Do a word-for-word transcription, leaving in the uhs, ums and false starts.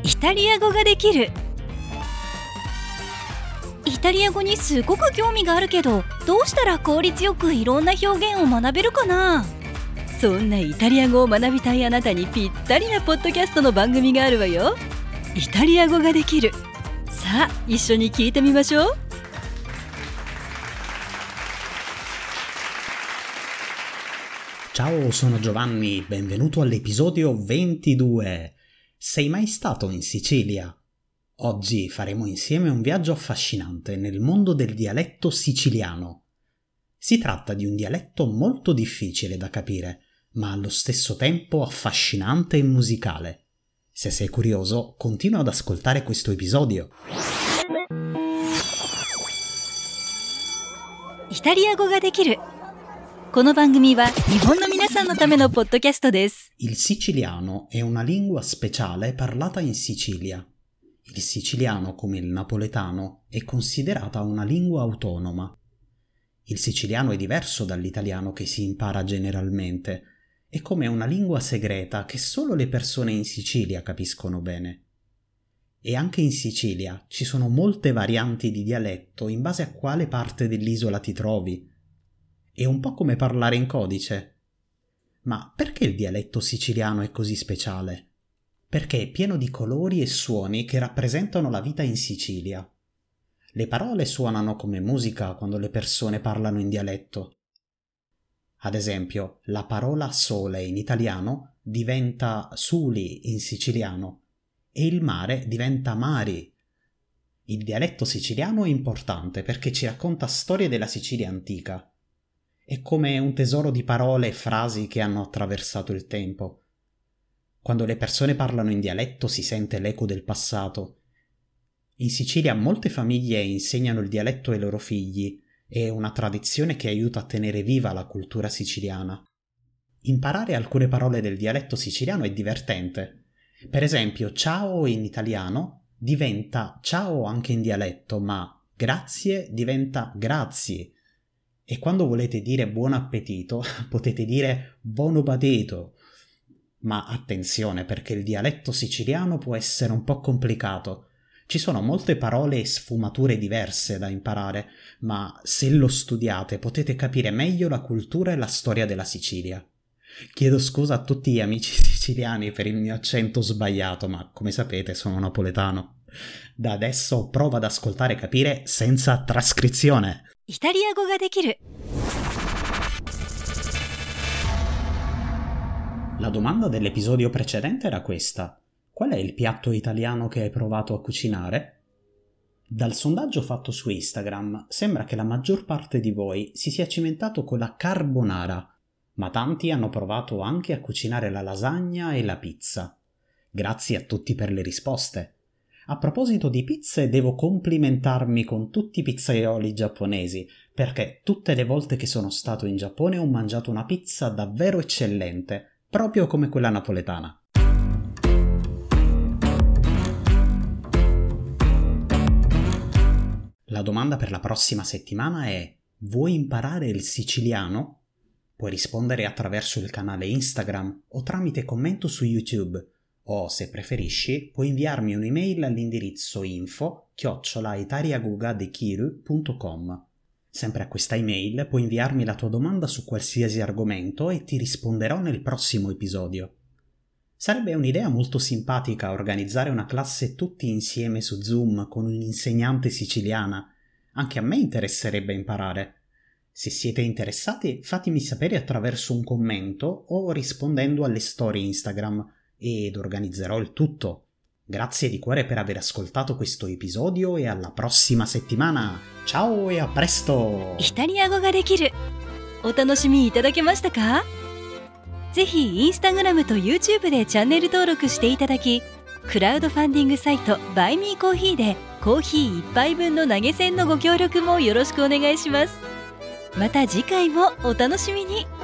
イタリア語ができる。イタリア語にすごく興味があるけど、どうしたら効率よくいろんな表現を学べるかな。そんなイタリア語を学びたいあなたにぴったりなポッドキャストの番組があるわよ。イタリア語ができる。さあ、一緒に聞いてみましょう。 Ciao, sono Giovanni, benvenuto all'episodio ventidue. Sei mai stato in Sicilia? Oggi faremo insieme un viaggio affascinante nel mondo del dialetto siciliano. Si tratta di un dialetto molto difficile da capire, ma allo stesso tempo affascinante e musicale. Se sei curioso, continua ad ascoltare questo episodio. イタリア語ができる。この番組は日本の皆さんのためのポッドキャストです。 Il siciliano è una lingua speciale parlata in Sicilia. Il siciliano, come il napoletano, è considerata una lingua autonoma. Il siciliano è diverso dall'italiano che si impara generalmente. È come una lingua segreta che solo le persone in Sicilia capiscono bene. E anche in Sicilia ci sono molte varianti di dialetto in base a quale parte dell'isola ti trovi. È un po' come parlare in codice. Ma perché il dialetto siciliano è così speciale? Perché è pieno di colori e suoni che rappresentano la vita in Sicilia. Le parole suonano come musica quando le persone parlano in dialetto. Ad esempio, la parola sole in italiano diventa suli in siciliano e il mare diventa mari. Il dialetto siciliano è importante perché ci racconta storie della Sicilia antica. È come un tesoro di parole e frasi che hanno attraversato il tempo. Quando le persone parlano in dialetto si sente l'eco del passato. In Sicilia molte famiglie insegnano il dialetto ai loro figli. È una tradizione che aiuta a tenere viva la cultura siciliana. Imparare alcune parole del dialetto siciliano è divertente. Per esempio, ciao in italiano diventa ciao anche in dialetto, ma grazie diventa grazie. E quando volete dire buon appetito, potete dire buon appetito. Ma attenzione, perché il dialetto siciliano può essere un po' complicato. Ci sono molte parole e sfumature diverse da imparare, ma se lo studiate potete capire meglio la cultura e la storia della Sicilia. Chiedo scusa a tutti gli amici siciliani per il mio accento sbagliato, ma come sapete sono napoletano. Da adesso prova ad ascoltare e capire senza trascrizione. イタリア語ができる。 La domanda dell'episodio precedente era questa: qual è il piatto italiano che hai provato a cucinare? Dal sondaggio fatto su Instagram sembra che la maggior parte di voi si sia cimentato con la carbonara, ma tanti hanno provato anche a cucinare la lasagna e la pizza. Grazie a tutti per le risposte. A proposito di pizze, devo complimentarmi con tutti i pizzaioli giapponesi, perché tutte le volte che sono stato in Giappone ho mangiato una pizza davvero eccellente, proprio come quella napoletana. La domanda per la prossima settimana è: vuoi imparare il siciliano? Puoi rispondere attraverso il canale Instagram o tramite commento su YouTube. O, se preferisci, puoi inviarmi un'email all'indirizzo info chiocciola italiagogadekiru punto com. Sempre a questa email puoi inviarmi la tua domanda su qualsiasi argomento e ti risponderò nel prossimo episodio. Sarebbe un'idea molto simpatica organizzare una classe tutti insieme su Zoom con un'insegnante siciliana. Anche a me interesserebbe imparare. Se siete interessati, fatemi sapere attraverso un commento o rispondendo alle storie Instagram, ed organizzerò il tutto. Grazie di cuore per aver ascoltato questo episodio e alla prossima settimana. Ciao e a presto! イタリア語ができる。お楽しみいただけましたか？ぜひインスタグラムと YouTube でチャンネル登録していただき、クラウドファンディングサイトバイミーコーヒーでコーヒーいっぱいぶんの投げ銭のご協力もよろしくお願いします。また次回もお楽しみに。